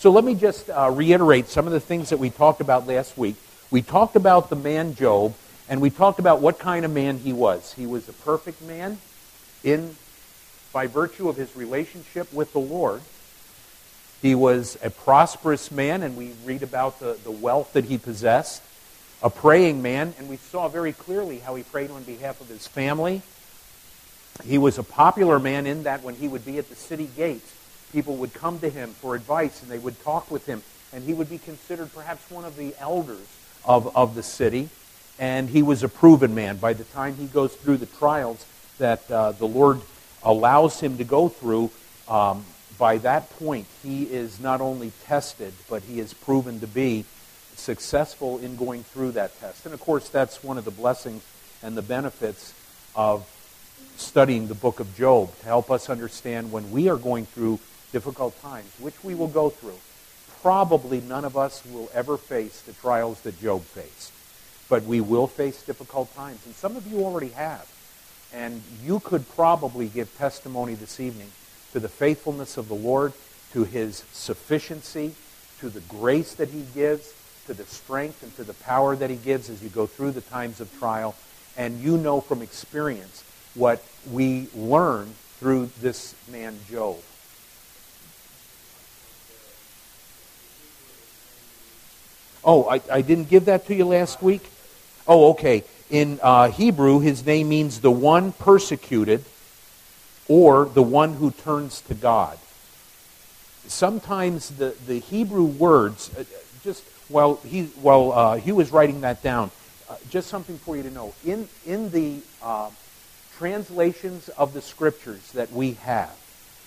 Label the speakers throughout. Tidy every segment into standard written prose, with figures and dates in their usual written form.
Speaker 1: So let me just reiterate some of the things that we talked about last week. We talked about the man Job, and we talked about what kind of man he was. He was a perfect man by virtue of his relationship with the Lord. He was a prosperous man, and we read about the wealth that he possessed. A praying man, and we saw very clearly how he prayed on behalf of his family. He was a popular man in that when he would be at the city gates, people would come to him for advice, and they would talk with him, and he would be considered perhaps one of the elders of the city. And he was a proven man. By the time he goes through the trials that the Lord allows him to go through, by that point, he is not only tested, but he is proven to be successful in going through that test. And of course, that's one of the blessings and the benefits of studying the book of Job, to help us understand when we are going through difficult times, which we will go through. Probably none of us will ever face the trials that Job faced. But we will face difficult times. And some of you already have. And you could probably give testimony this evening to the faithfulness of the Lord, to his sufficiency, to the grace that he gives, to the strength and to the power that he gives as you go through the times of trial. And you know from experience what we learn through this man Job. Oh, I didn't give that to you last week? Oh, okay. In Hebrew, his name means the one persecuted or the one who turns to God. Sometimes the Hebrew words, while Hugh was writing that down, just something for you to know. In the translations of the Scriptures that we have,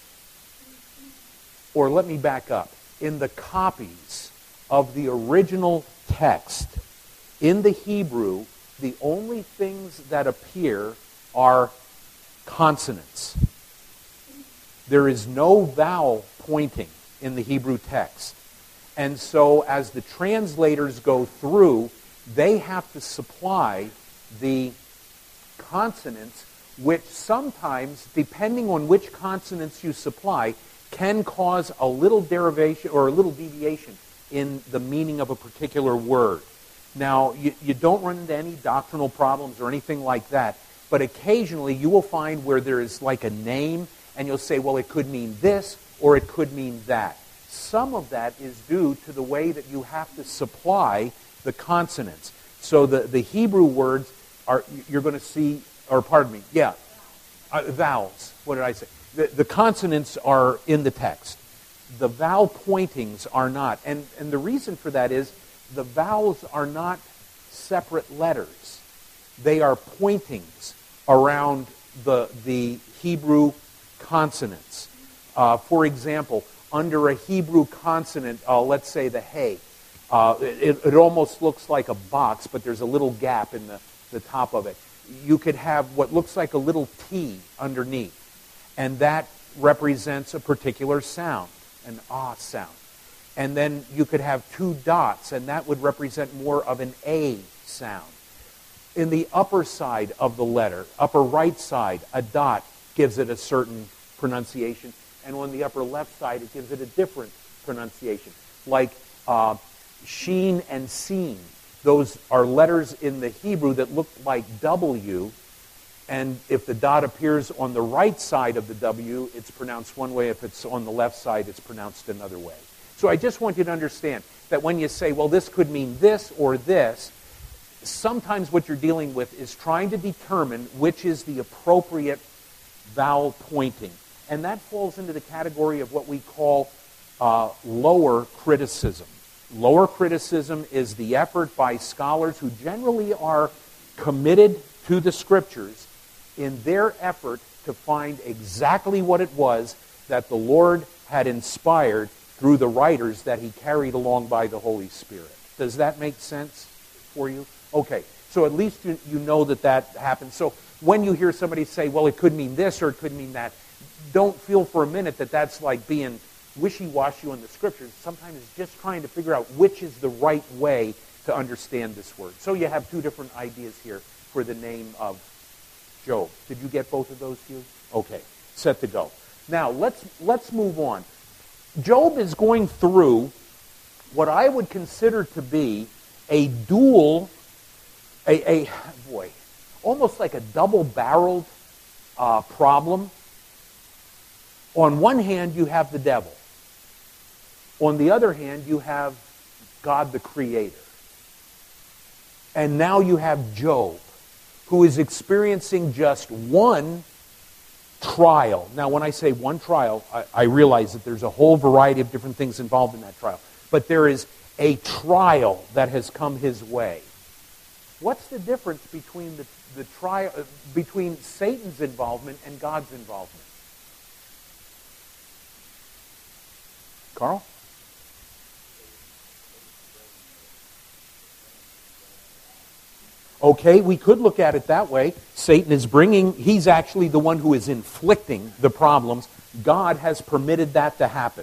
Speaker 1: or let me back up, in the copies of the original text, in the Hebrew, the only things that appear are consonants. There is no vowel pointing in the Hebrew text. And so as the translators go through, they have to supply the consonants, which sometimes, depending on which consonants you supply, can cause a little derivation or a little deviation in the meaning of a particular word. Now, you don't run into any doctrinal problems or anything like that, but occasionally you will find where there is like a name, and you'll say, well, it could mean this or it could mean that. Some of that is due to the way that you have to supply the consonants. So the Hebrew words are, you're going to see, or pardon me, vowels. What did I say? The consonants are in the text. The vowel pointings are not. And the reason for that is the vowels are not separate letters. They are pointings around the Hebrew consonants. For example, under a Hebrew consonant, let's say the hey, it almost looks like a box, but there's a little gap in the top of it. You could have what looks like a little T underneath, and that represents a particular sound, an ah sound. And then you could have two dots, and that would represent more of an A sound. In the upper side of the letter, upper right side, a dot gives it a certain pronunciation, and on the upper left side, it gives it a different pronunciation. Like sheen and seen. Those are letters in the Hebrew that look like W, and if the dot appears on the right side of the W, it's pronounced one way. If it's on the left side, it's pronounced another way. So I just want you to understand that when you say, well, this could mean this or this, sometimes what you're dealing with is trying to determine which is the appropriate vowel pointing. And that falls into the category of what we call lower criticism. Lower criticism is the effort by scholars who generally are committed to the Scriptures in their effort to find exactly what it was that the Lord had inspired through the writers that he carried along by the Holy Spirit. Does that make sense for you? Okay, so at least you know that happens. So when you hear somebody say, well, it could mean this or it could mean that, don't feel for a minute that that's like being wishy-washy on the Scriptures. Sometimes it's just trying to figure out which is the right way to understand this word. So you have two different ideas here for the name of Job. Did you get both of those, Hugh? Okay, set to go. Now, let's move on. Job is going through what I would consider to be a dual, almost like a double-barreled problem. On one hand, you have the devil. On the other hand, you have God the Creator. And now you have Job, who is experiencing just one trial. Now, when I say one trial, I realize that there's a whole variety of different things involved in that trial. But there is a trial that has come his way. What's the difference between the trial, between Satan's involvement and God's involvement? Carl? Okay, we could look at it that way. Satan is he's actually the one who is inflicting the problems. God has permitted that to happen.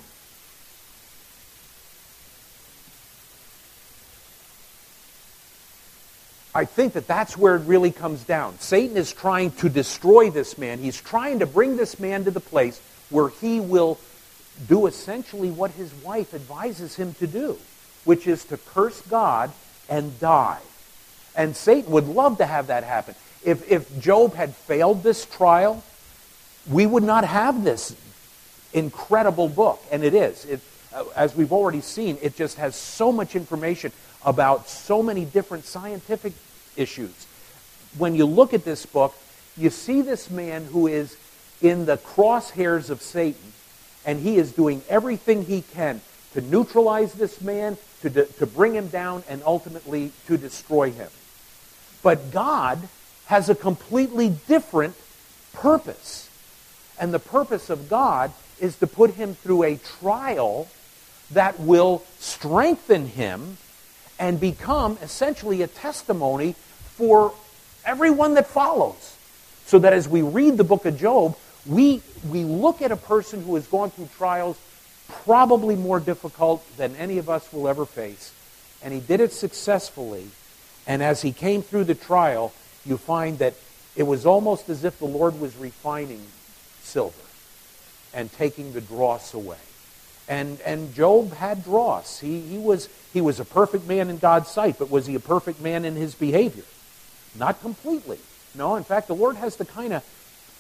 Speaker 1: I think that that's where it really comes down. Satan is trying to destroy this man. He's trying to bring this man to the place where he will do essentially what his wife advises him to do, which is to curse God and die. And Satan would love to have that happen. If Job had failed this trial, we would not have this incredible book. And it is. As we've already seen, it just has so much information about so many different scientific issues. When you look at this book, you see this man who is in the crosshairs of Satan, and he is doing everything he can to neutralize this man, to bring him down, and ultimately to destroy him. But God has a completely different purpose. And the purpose of God is to put him through a trial that will strengthen him and become essentially a testimony for everyone that follows. So that as we read the book of Job, we look at a person who has gone through trials probably more difficult than any of us will ever face. And he did it successfully. And as he came through the trial, you find that it was almost as if the Lord was refining silver and taking the dross away. And Job had dross. He was a perfect man in God's sight, but was he a perfect man in his behavior? Not completely. No, in fact, the Lord has to kind of,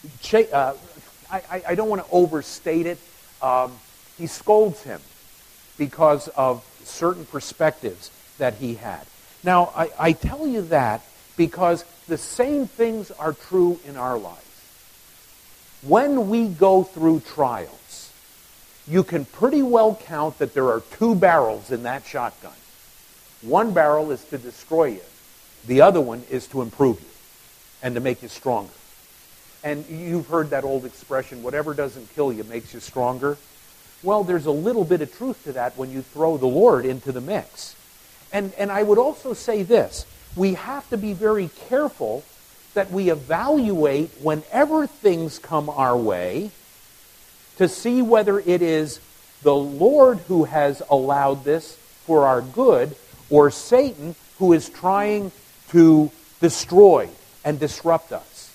Speaker 1: I don't want to overstate it. He scolds him because of certain perspectives that he had. Now, I tell you that because the same things are true in our lives. When we go through trials, you can pretty well count that there are two barrels in that shotgun. One barrel is to destroy you. The other one is to improve you and to make you stronger. And you've heard that old expression, whatever doesn't kill you makes you stronger. Well, there's a little bit of truth to that when you throw the Lord into the mix. And I would also say this, we have to be very careful that we evaluate whenever things come our way to see whether it is the Lord who has allowed this for our good or Satan who is trying to destroy and disrupt us.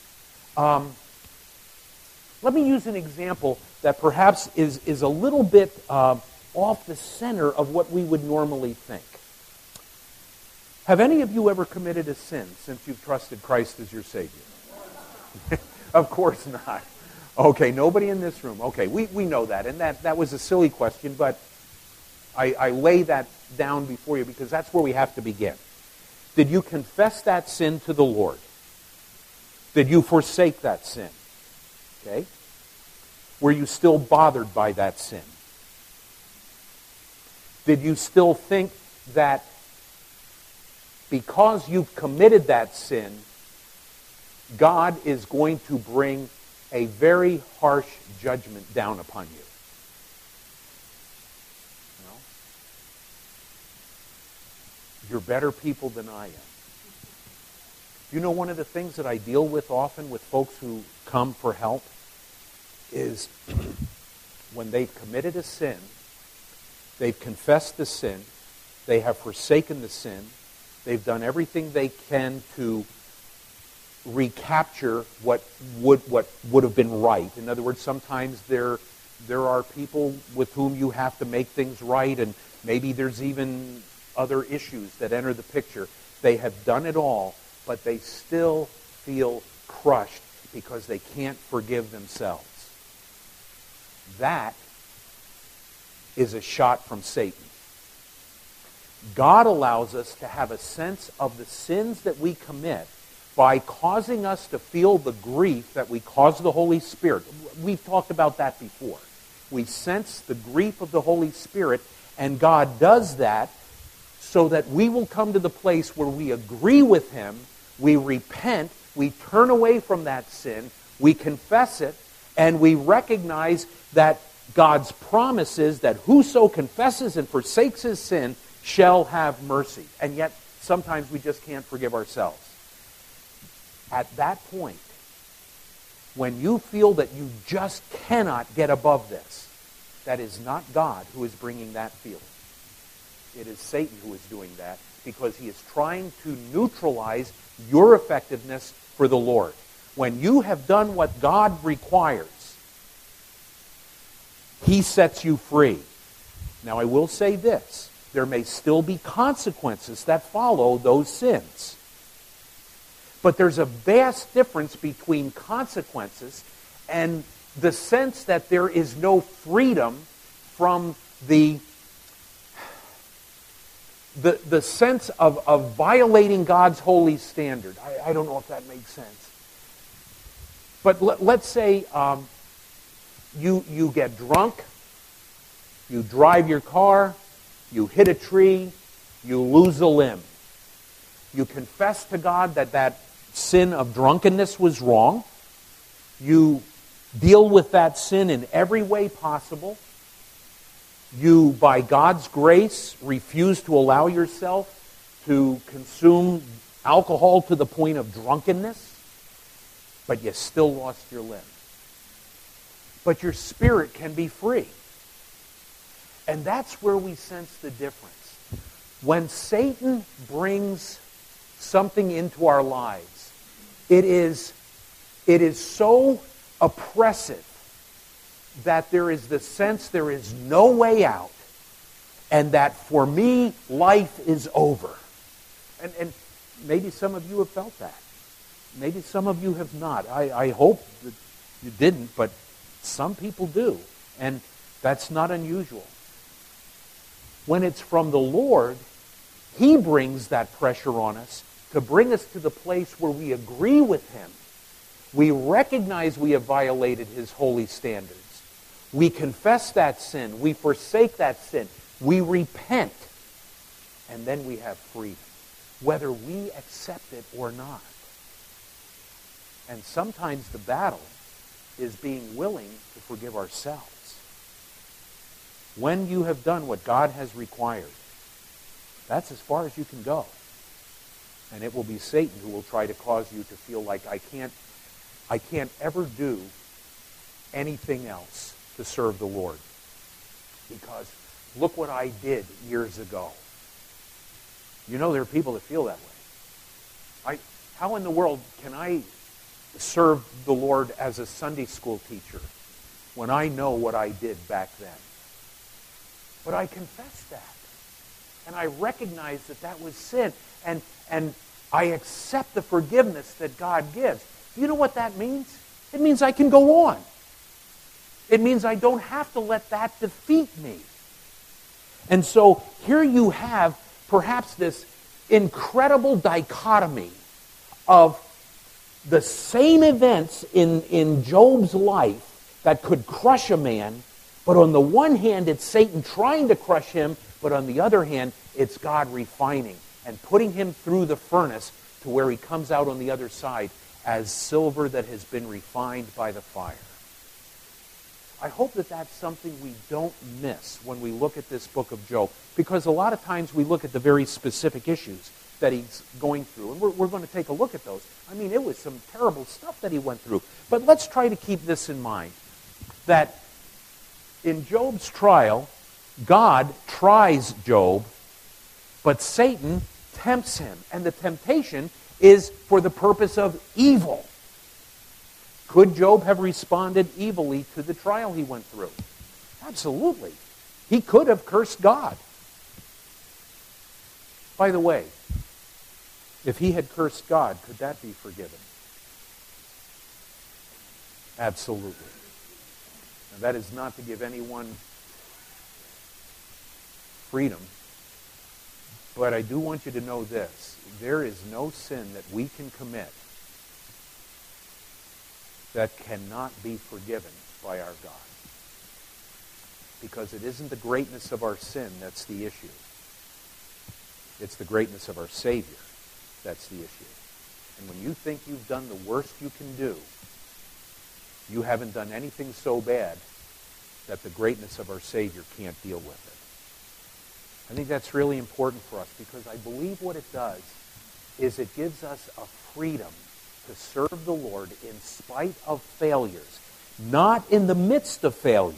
Speaker 1: Let me use an example that perhaps is a little bit off the center of what we would normally think. Have any of you ever committed a sin since you've trusted Christ as your Savior? Of course not. Okay, nobody in this room. Okay, we know that. And that was a silly question, but I lay that down before you because that's where we have to begin. Did you confess that sin to the Lord? Did you forsake that sin? Okay? Were you still bothered by that sin? Did you still think that because you've committed that sin, God is going to bring a very harsh judgment down upon you? No? You're better people than I am. You know, one of the things that I deal with often with folks who come for help is when they've committed a sin, they've confessed the sin, they have forsaken the sin, they've done everything they can to recapture what would have been right. In other words, sometimes they're there are people with whom you have to make things right, and maybe there's even other issues that enter the picture. They have done it all, but they still feel crushed because they can't forgive themselves. That is a shot from Satan. God allows us to have a sense of the sins that we commit by causing us to feel the grief that we cause the Holy Spirit. We've talked about that before. We sense the grief of the Holy Spirit, and God does that so that we will come to the place where we agree with Him, we repent, we turn away from that sin, we confess it, and we recognize that God's promise is that whoso confesses and forsakes his sin shall have mercy. And yet, sometimes we just can't forgive ourselves. At that point, when you feel that you just cannot get above this, that is not God who is bringing that feeling. It is Satan who is doing that because he is trying to neutralize your effectiveness for the Lord. When you have done what God requires, He sets you free. Now, I will say this. There may still be consequences that follow those sins. But there's a vast difference between consequences and the sense that there is no freedom from the sense of violating God's holy standard. I don't know if that makes sense. But let's say you get drunk, you drive your car, you hit a tree, you lose a limb. You confess to God that sin of drunkenness was wrong. You deal with that sin in every way possible. You, by God's grace, refuse to allow yourself to consume alcohol to the point of drunkenness, but you still lost your limb. But your spirit can be free. And that's where we sense the difference. When Satan brings something into our lives, it is so oppressive that there is the sense there is no way out, and that for me, life is over. And maybe some of you have felt that. Maybe some of you have not. I hope that you didn't, but some people do. And that's not unusual. When it's from the Lord, He brings that pressure on us to bring us to the place where we agree with Him. We recognize we have violated His holy standards. We confess that sin. We forsake that sin. We repent. And then we have freedom, whether we accept it or not. And sometimes the battle is being willing to forgive ourselves. When you have done what God has required, that's as far as you can go. And it will be Satan who will try to cause you to feel like I can't ever do anything else to serve the Lord. Because look what I did years ago. You know, there are people that feel that way. How in the world can I serve the Lord as a Sunday school teacher when I know what I did back then? But I confess that. And I recognize that was sin. And I accept the forgiveness that God gives. Do you know what that means? It means I can go on. It means I don't have to let that defeat me. And so here you have perhaps this incredible dichotomy of the same events in Job's life that could crush a man, but on the one hand, it's Satan trying to crush him, but on the other hand, it's God refining and putting him through the furnace to where he comes out on the other side as silver that has been refined by the fire. I hope that that's something we don't miss when we look at this book of Job, because a lot of times we look at the very specific issues that he's going through, and we're going to take a look at those. I mean, it was some terrible stuff that he went through. But let's try to keep this in mind, that in Job's trial, God tries Job, but Satan tempts him, and the temptation is for the purpose of evil. Could Job have responded evilly to the trial he went through? Absolutely. He could have cursed God. By the way, if he had cursed God, could that be forgiven? Absolutely. Now, that is not to give anyone freedom, but I do want you to know this. There is no sin that we can commit that cannot be forgiven by our God. Because it isn't the greatness of our sin that's the issue. It's the greatness of our Savior that's the issue. And when you think you've done the worst you can do, you haven't done anything so bad that the greatness of our Savior can't deal with it. I think that's really important for us, because I believe what it does is it gives us a freedom to serve the Lord in spite of failures, not in the midst of failure.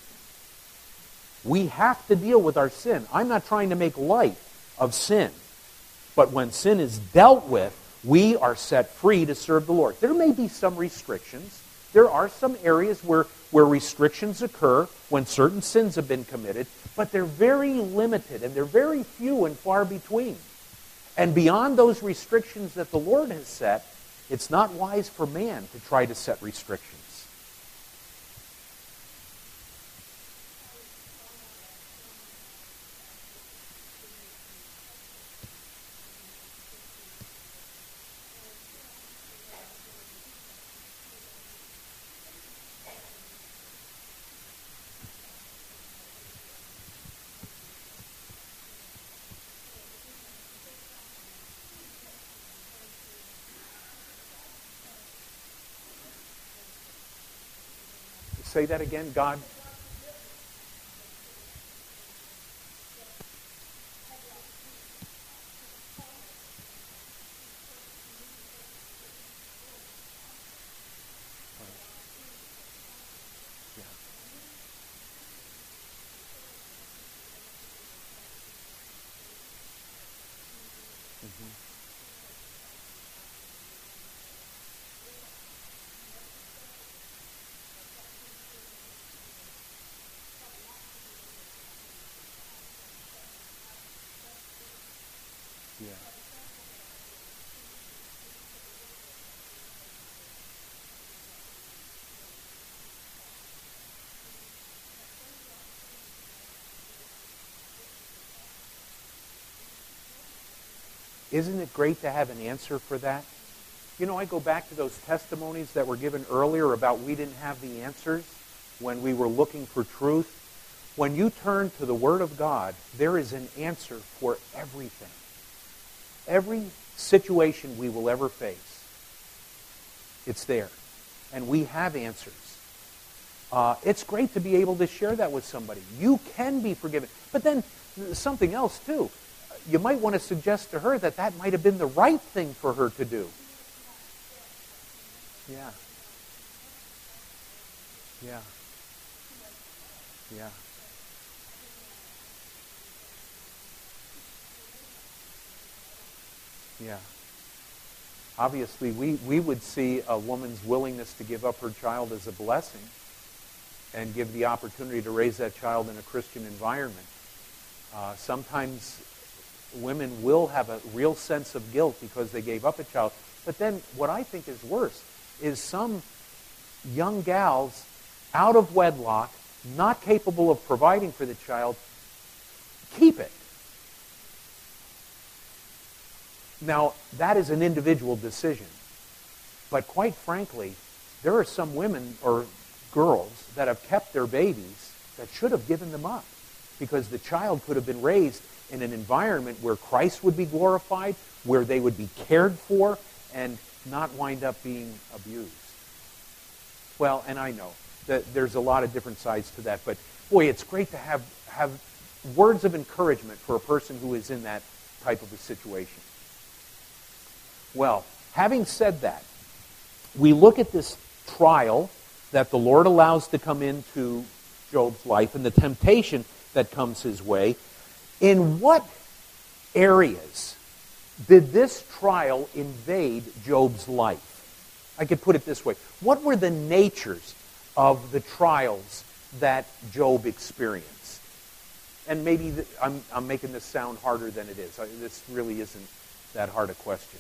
Speaker 1: We have to deal with our sin. I'm not trying to make light of sin. But when sin is dealt with, we are set free to serve the Lord. There may be some restrictions. There are some areas where restrictions occur when certain sins have been committed, but they're very limited and they're very few and far between. And beyond those restrictions that the Lord has set, it's not wise for man to try to set restrictions. Say that again, God. Yeah. Isn't it great to have an answer for that? You know, I go back to those testimonies that were given earlier about we didn't have the answers when we were looking for truth. When you turn to the Word of God, there is an answer for everything. Every situation we will ever face, it's there. And we have answers. It's great to be able to share that with somebody. You can be forgiven. But then something else, too. You might want to suggest to her that that might have been the right thing for her to do. Yeah. Yeah. Yeah. Yeah. Obviously, we would see a woman's willingness to give up her child as a blessing and give the opportunity to raise that child in a Christian environment. Sometimes women will have a real sense of guilt because they gave up a child. But then what I think is worse is some young gals out of wedlock, not capable of providing for the child, keep it. Now, that is an individual decision. But quite frankly, there are some women or girls that have kept their babies that should have given them up, because the child could have been raised in an environment where Christ would be glorified, where they would be cared for, and not wind up being abused. Well, and I know that there's a lot of different sides to that, but boy, it's great to have words of encouragement for a person who is in that type of a situation. Well, having said that, we look at this trial that the Lord allows to come into Job's life and the temptation that comes his way. In what areas did this trial invade Job's life? I could put it this way. What were the natures of the trials that Job experienced? And maybe I'm making this sound harder than it is. This really isn't that hard a question.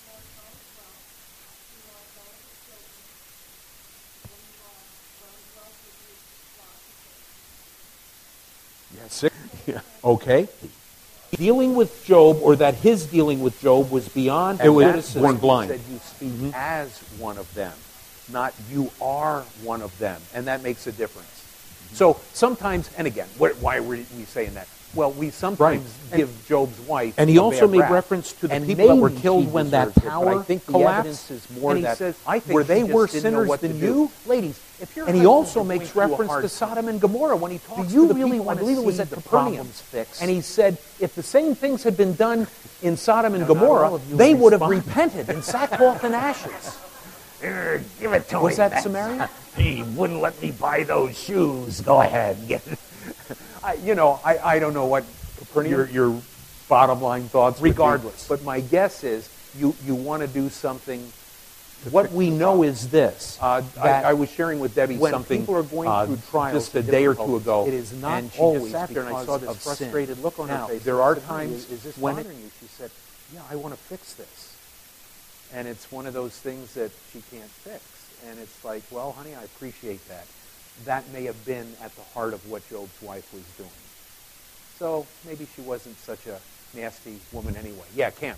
Speaker 1: Yes. Yeah. Okay. Dealing with Job, or that his dealing with Job was beyond criticism. Born blind. He said you speak as one of them, not you are one of them. And that makes a difference. So sometimes, and again, why are we saying that? Well, we sometimes give Job's wife
Speaker 2: and he also made
Speaker 1: rap.
Speaker 2: reference to the
Speaker 1: And
Speaker 2: people that were
Speaker 1: maybe
Speaker 2: killed
Speaker 1: she
Speaker 2: when that
Speaker 1: deserved it, but
Speaker 2: tower
Speaker 1: I think the
Speaker 2: collapsed.
Speaker 1: evidence is more
Speaker 2: And he
Speaker 1: that
Speaker 2: says,
Speaker 1: I think
Speaker 2: were
Speaker 1: she
Speaker 2: they
Speaker 1: just
Speaker 2: worse
Speaker 1: didn't know
Speaker 2: sinners
Speaker 1: what
Speaker 2: than
Speaker 1: to do.
Speaker 2: you?
Speaker 1: Ladies, if you're
Speaker 2: And he also makes reference to
Speaker 1: Sodom and Gomorrah when he talks
Speaker 2: you
Speaker 1: to the
Speaker 2: really
Speaker 1: people. I
Speaker 2: wanna
Speaker 1: believe it was
Speaker 2: see
Speaker 1: at
Speaker 2: the
Speaker 1: Capernaum.
Speaker 2: problems fixed?
Speaker 1: And he said, if the same things had been done in Sodom and
Speaker 2: Now, not all
Speaker 1: Gomorrah,
Speaker 2: of you
Speaker 1: they would have
Speaker 2: respond.
Speaker 1: repented in sackcloth and ashes.
Speaker 3: Give it to me.
Speaker 1: Was that
Speaker 3: man.
Speaker 1: Samaria?
Speaker 3: He wouldn't let me buy those shoes. Go ahead. Get it.
Speaker 1: I don't know what Capernaum.
Speaker 2: Your bottom line thoughts.
Speaker 1: Regardless, but my guess is you want to do something. What we know is this: that
Speaker 2: I was sharing with Debbie
Speaker 1: when
Speaker 2: something
Speaker 1: people are going through trials
Speaker 2: just a day or two ago.
Speaker 1: it is not
Speaker 2: and she
Speaker 1: always
Speaker 2: just sat there and I
Speaker 1: because
Speaker 2: saw this
Speaker 1: of sin.
Speaker 2: frustrated look on
Speaker 1: Now,
Speaker 2: her face.
Speaker 1: there
Speaker 2: I
Speaker 1: are
Speaker 2: said, "Honey,
Speaker 1: times
Speaker 2: is this
Speaker 1: when
Speaker 2: bothering you?"
Speaker 1: she said, "Yeah, I want to fix this," and it's one of those things that she can't fix. And it's like, well, honey, I appreciate that. That may have been at the heart of what Job's wife was doing. So maybe she wasn't such a nasty woman anyway. Yeah, Cam.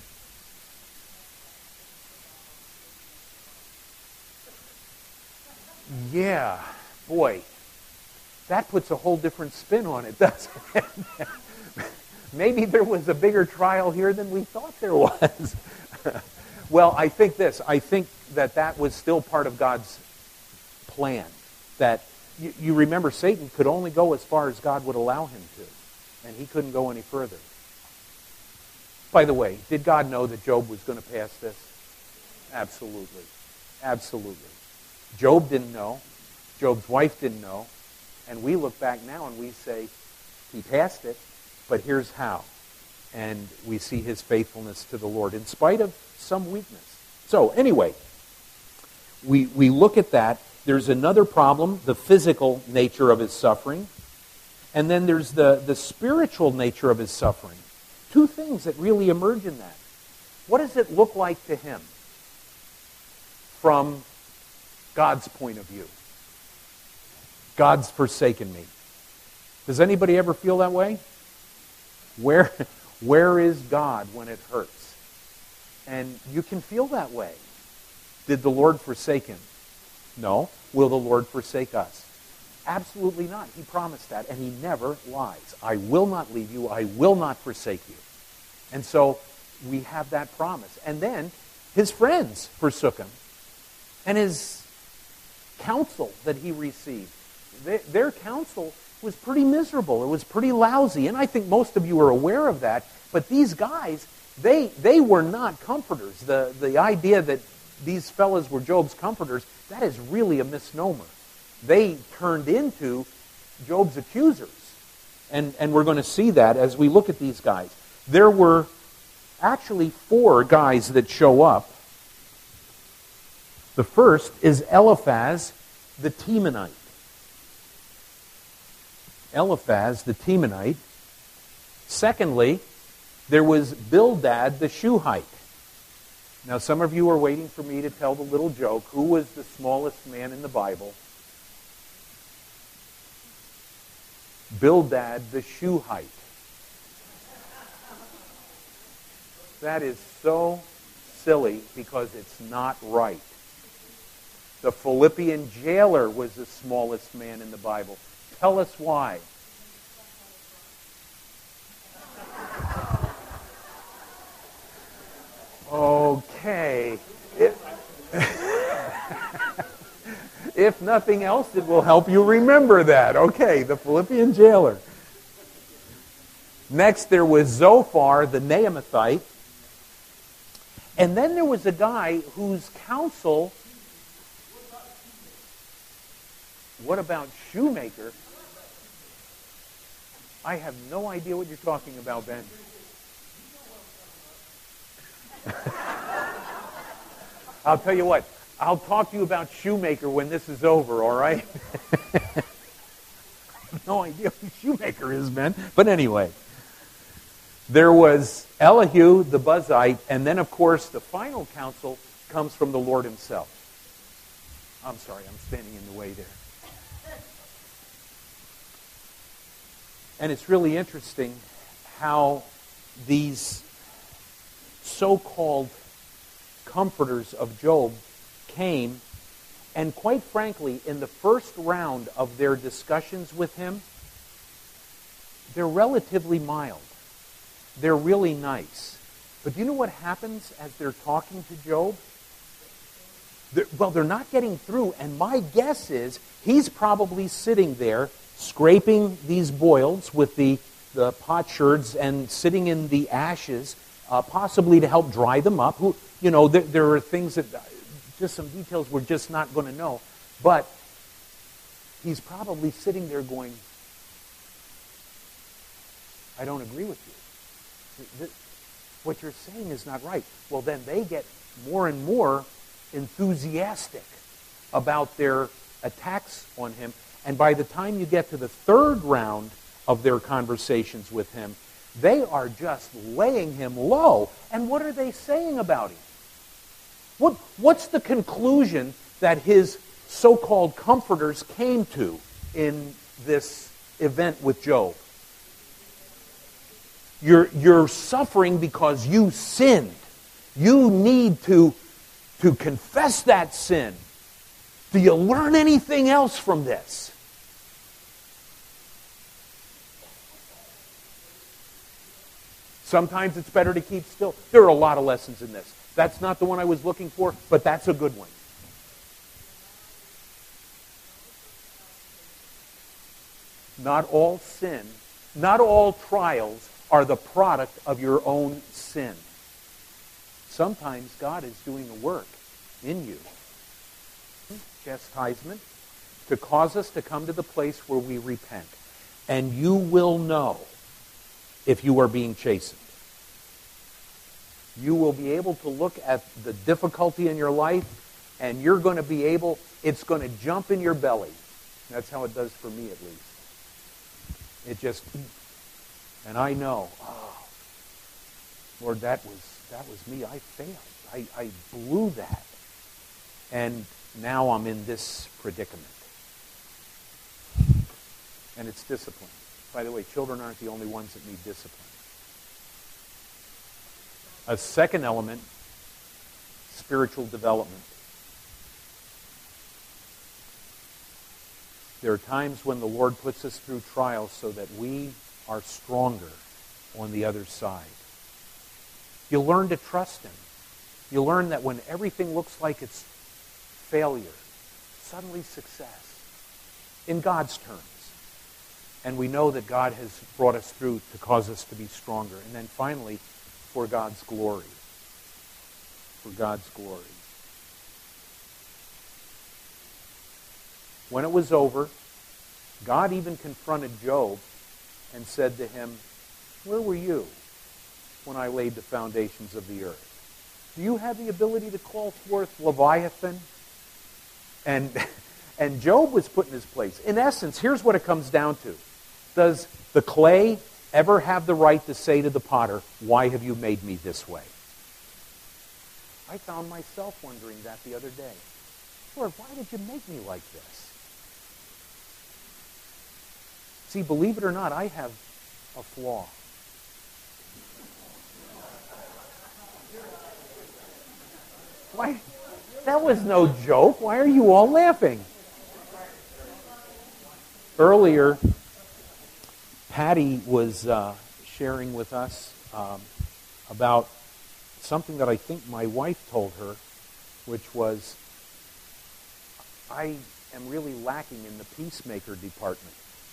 Speaker 1: Yeah, boy, that puts a whole different spin on it, doesn't it? Maybe there was a bigger trial here than we thought there was. Well, I think that was still part of God's plan. That you remember, Satan could only go as far as God would allow him to, and he couldn't go any further. By the way, did God know that Job was going to pass this? Absolutely. Absolutely. Job didn't know. Job's wife didn't know. And we look back now and we say, he passed it, but here's how. And we see his faithfulness to the Lord in spite of some weakness. So anyway, we look at that. There's another problem, the physical nature of his suffering. And then there's the spiritual nature of his suffering. Two things that really emerge in that. What does it look like to him from God's point of view? God's forsaken me. Does anybody ever feel that way? Where is God when it hurts? And you can feel that way. Did the Lord forsake him? No. Will the Lord forsake us? Absolutely not. He promised that, and he never lies. I will not leave you. I will not forsake you. And so we have that promise. And then his friends forsook him. And his counsel that he received, their counsel was pretty miserable. It was pretty lousy. And I think most of you are aware of that. But these guys, they were not comforters. The idea that these fellas were Job's comforters, that is really a misnomer. They turned into Job's accusers. And we're going to see that as we look at these guys. There were actually 4 guys that show up. The first is Eliphaz the Temanite. Eliphaz the Temanite. Secondly, there was Bildad the Shuhite. Now, some of you are waiting for me to tell the little joke. Who was the smallest man in the Bible? Bildad the Shuhite. That is so silly because it's not right. The Philippian jailer was the smallest man in the Bible. Tell us why. Okay. If nothing else, it will help you remember that. Okay, the Philippian jailer. Next, there was Zophar the Naamathite. And then there was a guy whose counsel... What about Shoemaker? I have no idea what you're talking about, Ben. I'll tell you what. I'll talk to you about Shoemaker when this is over, all right? have no idea who Shoemaker is, man. But anyway, there was Elihu the Buzite, and then, of course, the final counsel comes from the Lord himself. I'm sorry, I'm standing in the way there. And it's really interesting how these so-called comforters of Job came, and quite frankly, in the first round of their discussions with him, they're relatively mild. They're really nice. But do you know what happens as they're talking to Job? They're not getting through, and my guess is he's probably sitting there scraping these boils with the potsherds and sitting in the ashes, possibly to help dry them up. There are things that, just some details we're just not going to know. But he's probably sitting there going, I don't agree with you. What you're saying is not right. Well, then they get more and more enthusiastic about their attacks on him. And by the time you get to the third round of their conversations with him, they are just laying him low. And what are they saying about him? What's the conclusion that his so-called comforters came to in this event with Job? You're suffering because you sinned. You need to confess that sin. Do you learn anything else from this? Sometimes it's better to keep still. There are a lot of lessons in this. That's not the one I was looking for, but that's a good one. Not all sin, not all trials are the product of your own sin. Sometimes God is doing a work in you. Chastisement to cause us to come to the place where we repent. And you will know if you are being chastened. You will be able to look at the difficulty in your life, and you're going to be able, it's going to jump in your belly. That's how it does for me, at least. It just, and I know, Lord, that was me. I failed. I blew that. And now I'm in this predicament. And it's discipline. By the way, children aren't the only ones that need discipline. A second element, spiritual development. There are times when the Lord puts us through trials so that we are stronger on the other side. You learn to trust Him. You learn that when everything looks like it's failure, suddenly success, in God's terms. And we know that God has brought us through to cause us to be stronger. And then finally, for God's glory. For God's glory. When it was over, God even confronted Job and said to him, "Where were you when I laid the foundations of the earth? Do you have the ability to call forth Leviathan?" And Job was put in his place. In essence, here's what it comes down to. Does the clay ever have the right to say to the potter, "Why have you made me this way?" I found myself wondering that the other day. Lord, why did you make me like this? See, believe it or not, I have a flaw. Why? That was no joke. Why are you all laughing? Earlier, Patty was sharing with us about something that I think my wife told her, which was, I am really lacking in the peacemaker department.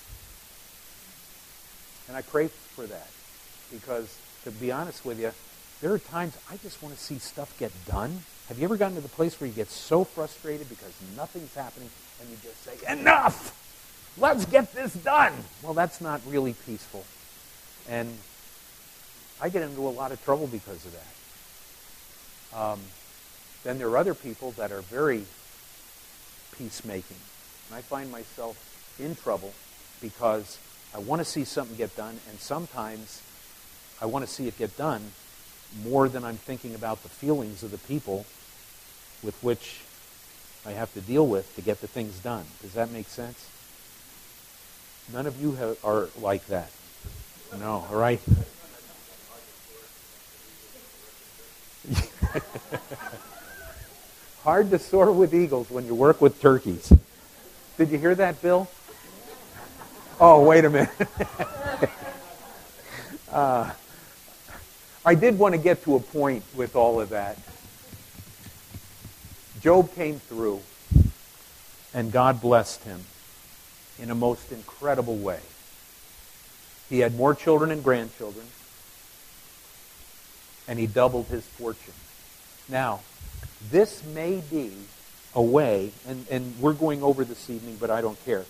Speaker 1: And I pray for that because, to be honest with you, there are times I just want to see stuff get done. Have you ever gotten to the place where you get so frustrated because nothing's happening and you just say, "Enough! Let's get this done"? Well, that's not really peaceful. And I get into a lot of trouble because of that. Then there are other people that are very peacemaking. And I find myself in trouble because I want to see something get done, and sometimes I want to see it get done more than I'm thinking about the feelings of the people with which I have to deal with to get the things done. Does that make sense? None of you are like that. No, all right? Hard to soar with eagles when you work with turkeys. Did you hear that, Bill? Oh, wait a minute. I did want to get to a point with all of that. Job came through, and God blessed him in a most incredible way. He had more children and grandchildren, and he doubled his fortune. Now, this may be a way, and we're going over this evening, but I don't care.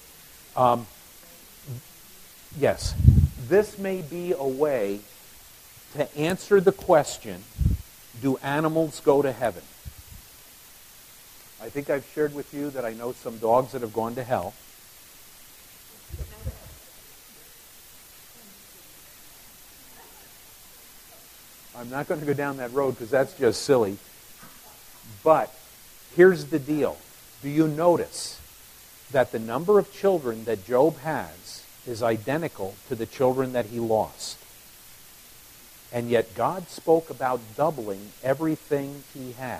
Speaker 1: Yes, this may be a way to answer the question, do animals go to heaven? I think I've shared with you that I know some dogs that have gone to hell. I'm not going to go down that road because that's just silly. But here's the deal. Do you notice that the number of children that Job has is identical to the children that he lost? And yet God spoke about doubling everything he had.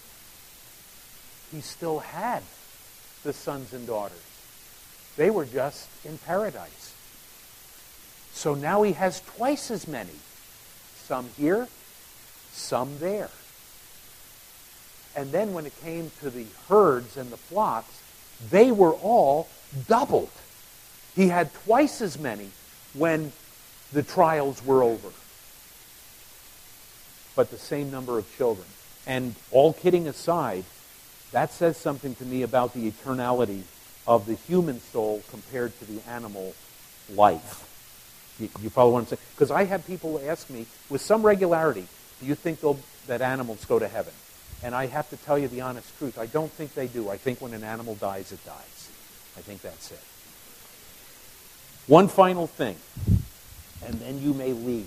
Speaker 1: He still had the sons and daughters. They were just in paradise. So now he has twice as many. Some here, some there. And then when it came to the herds and the flocks, they were all doubled. He had twice as many when the trials were over. But the same number of children. And all kidding aside, that says something to me about the eternality of the human soul compared to the animal life. You follow what I'm saying? Because I have people ask me with some regularity, do you think that animals go to heaven? And I have to tell you the honest truth. I don't think they do. I think when an animal dies, it dies. I think that's it. One final thing, and then you may leave.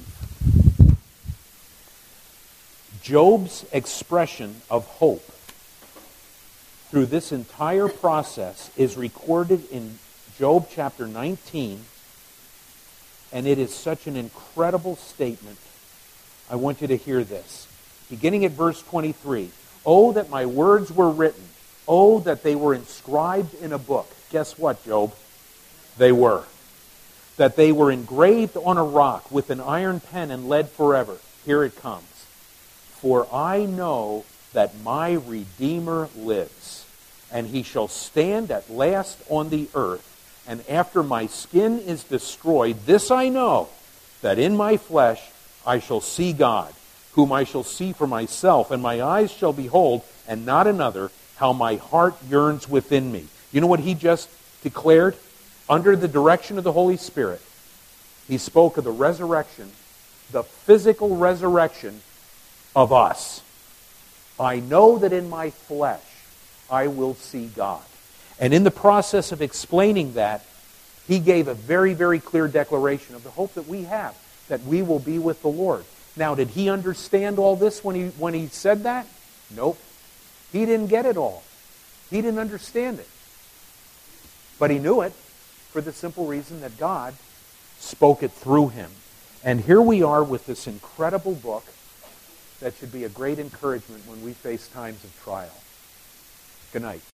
Speaker 1: Job's expression of hope through this entire process is recorded in Job chapter 19, and it is such an incredible statement. I want you to hear this. Beginning at verse 23, "Oh, that my words were written. Oh, that they were inscribed in a book." Guess what, Job? They were. "That they were engraved on a rock with an iron pen and lead forever." Here it comes. "For I know that my Redeemer lives, and he shall stand at last on the earth. And after my skin is destroyed, this I know, that in my flesh I shall see God, whom I shall see for myself, and my eyes shall behold, and not another, how my heart yearns within me." You know what he just declared? Under the direction of the Holy Spirit, he spoke of the resurrection, the physical resurrection of us. "I know that in my flesh I will see God." And in the process of explaining that, he gave a very, very clear declaration of the hope that we have, that we will be with the Lord. Now, did he understand all this when he said that? Nope. He didn't get it all. He didn't understand it. But he knew it for the simple reason that God spoke it through him. And here we are with this incredible book that should be a great encouragement when we face times of trial. Good night.